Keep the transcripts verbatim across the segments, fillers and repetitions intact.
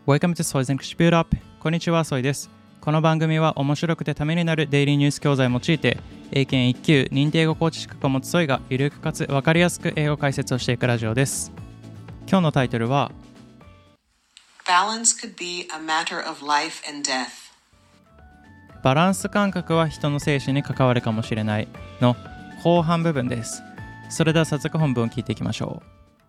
Welcome to Soy's English Build Up。こんにちは、ソイです。この番組は面白くてためになるデイリーニュース教材を用いて、英検いっ級認定英語コーチ資格を持つソイがゆるくかつ分かりやすく英語解説をしていくラジオです。今日のタイトルは Balance could be a matter of life and death。 バランス感覚は人の生死に関わるかもしれないの後半部分です。それでは早速本文を聞いていきましょう。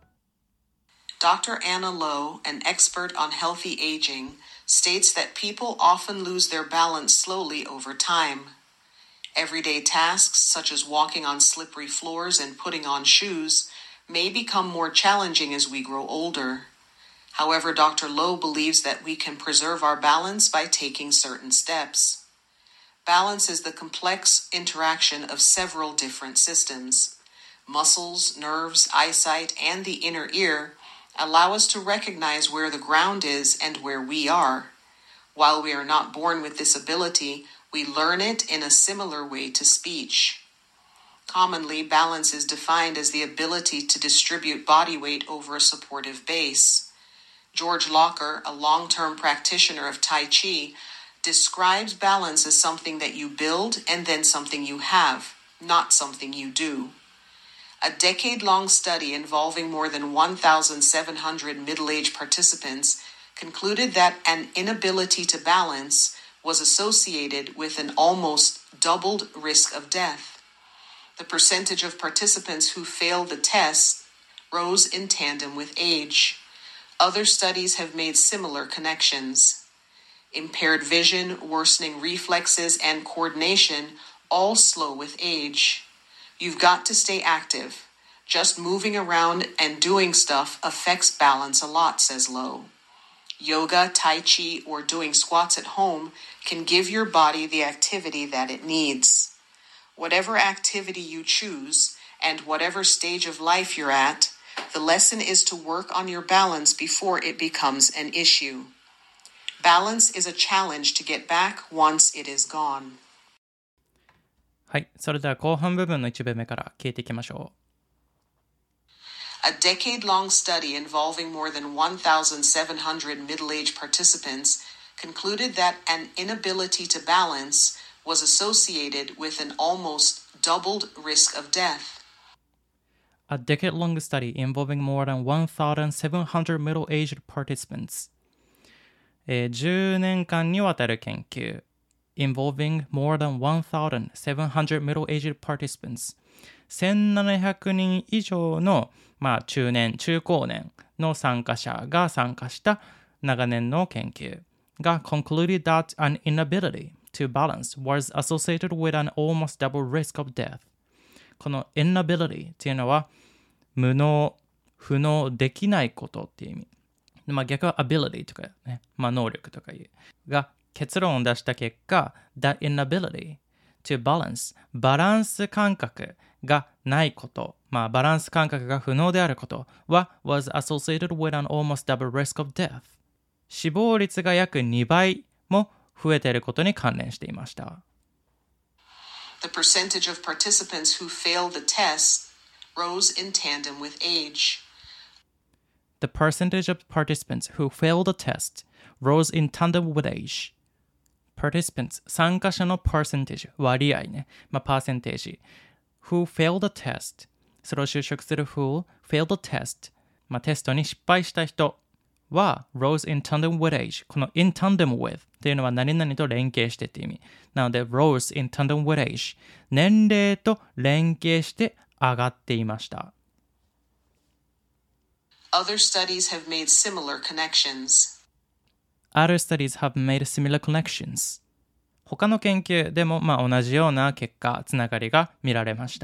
Doctor Anna Lowe, an expert on healthy aging, states that people often lose their balance slowly over time. Everyday tasks, such as walking on slippery floors and putting on shoes, may become more challenging as we grow older. However, Doctor Lowe believes that we can preserve our balance by taking certain steps. Balance is the complex interaction of several different systems. Muscles, nerves, eyesight, and the inner ear,allow us to recognize where the ground is and where we are. While we are not born with this ability, we learn it in a similar way to speech. Commonly, balance is defined as the ability to distribute body weight over a supportive base. George Locker, a long-term practitioner of Tai Chi, describes balance as something that you build and then something you have, not something you do.A decade-long study involving more than one thousand seven hundred middle-aged participants concluded that an inability to balance was associated with an almost doubled risk of death. The percentage of participants who failed the test rose in tandem with age. Other studies have made similar connections. Impaired vision, worsening reflexes, and coordination all slow with age.You've got to stay active. Just moving around and doing stuff affects balance a lot, says Lowe. Yoga, Tai Chi, or doing squats at home can give your body the activity that it needs. Whatever activity you choose, and whatever stage of life you're at, the lesson is to work on your balance before it becomes an issue. Balance is a challenge to get back once it is gone. はい、それでは後半部分の一部目から聞いていきましょう。 A decade-long study involving more than one thousand seven hundred middle-aged participants concluded that an inability to balance was associated with an almost doubled risk of death. A decade-long study involving more than one thousand seven hundred middle-aged participants、えー、じゅうねんかんにわたる研究involving more than one thousand seven hundred middle-aged participants せんななひゃくにん以上の、まあ、中年、中高年の参加者が参加した長年の研究が concluded that an inability to balance was associated with an almost double risk of death この inability っていうのは無能、不能、できないことっていう意味、まあ、逆は ability とかね、まあ、能力とかいうが結論を出した結果 that inability to balance バランス感覚がないこと、まあバランス感覚が不能であることは was associated with an almost double risk of death 死亡率が約にばいも増えていることに関連していました。 The percentage of participants who failed the test rose in tandem with age. The percentage of participants who failed the test rose in tandem with age participants 参加者の percentage 割合ね、まあ、パーセンテージ who failed the test それを就職する who failed the test、まあ、テストに失敗した人は rose in tandem with age この in tandem with っていうのは何々と連携してって意味なので rose in tandem with age 年齢と連携して上がっていました。 Other studies have made similar connections.Other studies have made similar connections. 他の研究でも、まあ、同じような結果、つながりが見られました。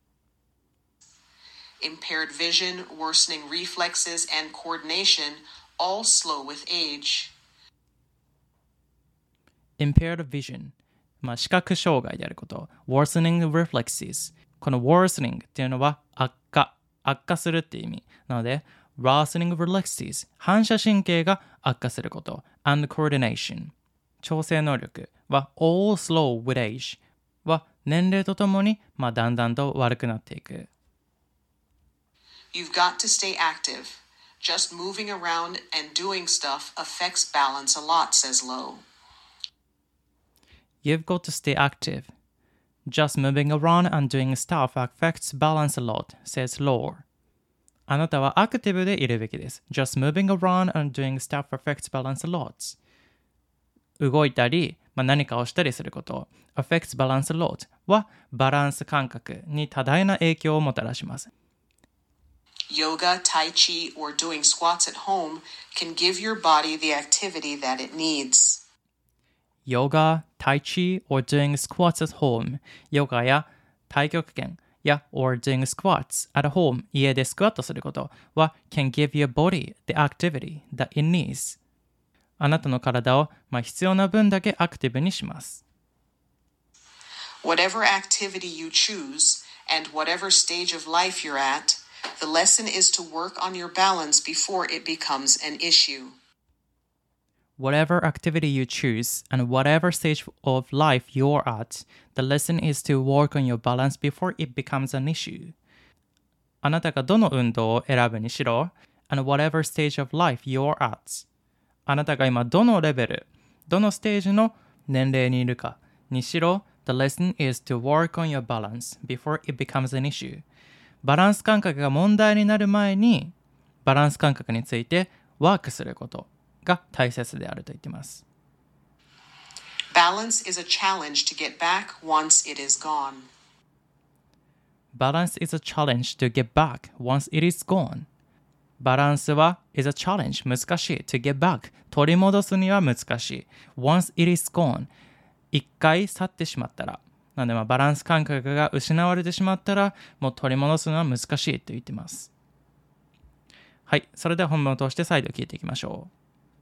Impaired vision, worsening reflexes, and coordination all slow with age. Impaired vision、まあ、視覚障害であること。worsening reflexes。この worsening っていうのは悪化、悪化するっていう意味。なので、worsening reflexes 反射神経が悪化すること and coordination 調整能力は all slow with age は年齢とともに、まあ、だんだんと悪くなっていく。 You've got to stay active. Just moving around and doing stuff affects balance a lot, says Lowe. You've got to stay active. Just moving around and doing stuff affects balance a lot, says Lowe. あなたはアクティブでいるべきです。Just moving around and doing stuff affects balance a lot. 動いたり、まあ、何かをしたりすること、affects balance a lot はバランス感覚に多大な影響をもたらします。 Yoga, Tai Chi, or doing squats at home can give your body the activity that it needs. Yoga, Tai Chi, or doing squats at home ヨガや太極拳や or doing squats at home 家でスクワットすることは can give your body the activity that it needs あなたの体を、まあ、必要な分だけアクティブにします。 Whatever activity you choose and whatever stage of life you're at, the lesson is to work on your balance before it becomes an issue. Whatever activity you choose and whatever stage of life you're at, the lesson is to work on your balance before it becomes an issue. あなたがどの運動を選ぶにしろ and whatever stage of life you're at. あなたが今どのレベル、どのステージの年齢にいるかにしろ The lesson is to work on your balance before it becomes an issue. バランス感覚が問題になる前にバランス感覚についてワークすることが大切であると言っています。 Balance is a challenge to get back once it is gone. Balance is a challenge to get back once it is gone. バランスは is a challenge 難しい to get back 取り戻すには難しい once it is gone 一回去ってしまったらなのでまあバランス感覚が失われてしまったらもう取り戻すのは難しいと言っています。はい、それでは本文を通して再度聞いていきましょう。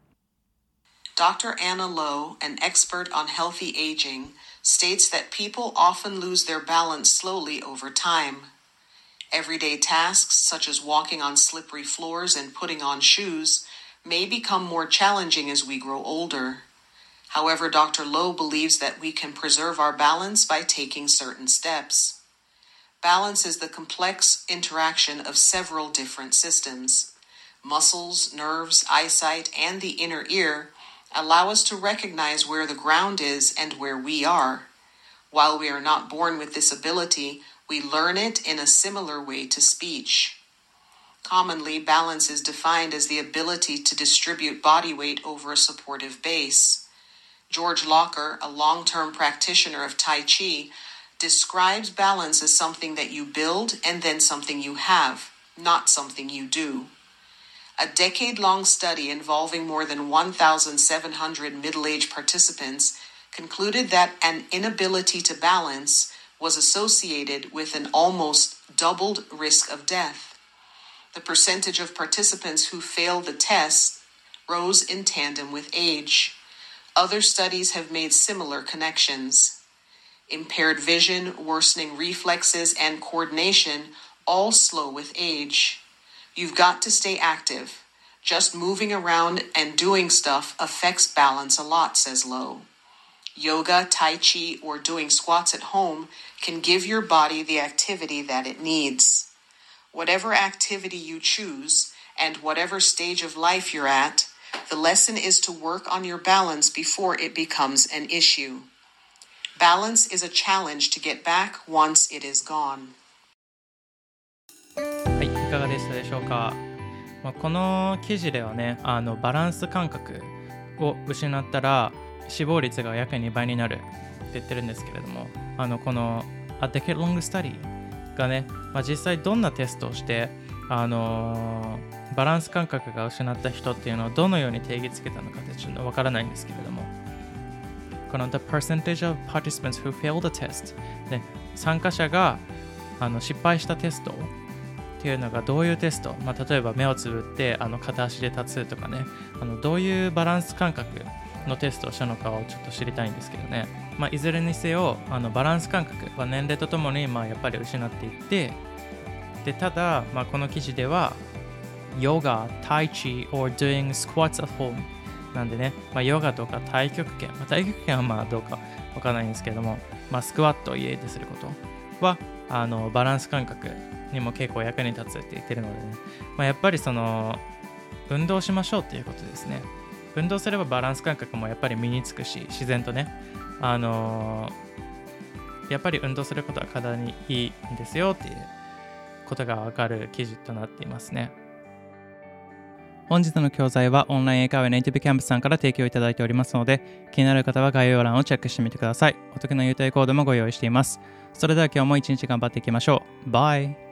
Doctor Anna Lowe, an expert on healthy aging, states that people often lose their balance slowly over time. Everyday tasks, such as walking on slippery floors and putting on shoes, may become more challenging as we grow older. However, Doctor Lowe believes that we can preserve our balance by taking certain steps. Balance is the complex interaction of several different systems. Muscles, nerves, eyesight, and the inner ear allow us to recognize where the ground is and where we are. While we are not born with this ability, we learn it in a similar way to speech. Commonly, balance is defined as the ability to distribute body weight over a supportive base. George Locker, a long-term practitioner of Tai Chi, describes balance as something that you build and then something you have, not something you do. A decade-long study involving more than one thousand seven hundred middle-aged participants concluded that an inability to balance was associated with an almost doubled risk of death. The percentage of participants who failed the test rose in tandem with age. Other studies have made similar connections. Impaired vision, worsening reflexes, and coordination all slow with age. You've got to stay active. Just moving around and doing stuff affects balance a lot, says Lowe. Yoga, Tai Chi, or doing squats at home can give your body the activity that it needs. Whatever activity you choose and whatever stage of life you're at, the lesson is to work on your balance before it becomes an issue. Balance is a challenge to get back once it is gone. はい、いかがでしたでしょうか。まあ、この記事ではね、あのバランス感覚を失ったら死亡率が約にばいになるって言ってるんですけれども、あのこの A Decade Long Study がね、まあ、実際どんなテストをして、あのー、バランス感覚が失った人っていうのをどのように定義つけたのかってちょっとわからないんですけれども、この The percentage of participants who failed the test で参加者があの失敗したテストっていうのがどういうテスト、まあ、例えば目をつぶってあの片足で立つとかね、あのどういうバランス感覚のテストをしたのかをちょっと知りたいんですけどね、まあ、いずれにせよあのバランス感覚は年齢とともにまあやっぱり失っていって、でただ、まあ、この記事ではヨガ、タイチ or doing squats at home なんでね、まあ、ヨガとか太極拳、まあ、太極拳はまあどうかわからないんですけども、まあ、スクワットを家ですることはあのバランス感覚にも結構役に立つって言ってるのでね、まあ、やっぱりその運動しましょうっていうことですね。運動すればバランス感覚もやっぱり身につくし、自然とね、あのー、やっぱり運動することは体にいいんですよっていうことがわかる記事となっていますね。本日の教材はオンライン英会話ネイティブキャンプさんから提供いただいておりますので、気になる方は概要欄をチェックしてみてください。お得な優待コードもご用意しています。それでは今日も一日頑張っていきましょう。バイ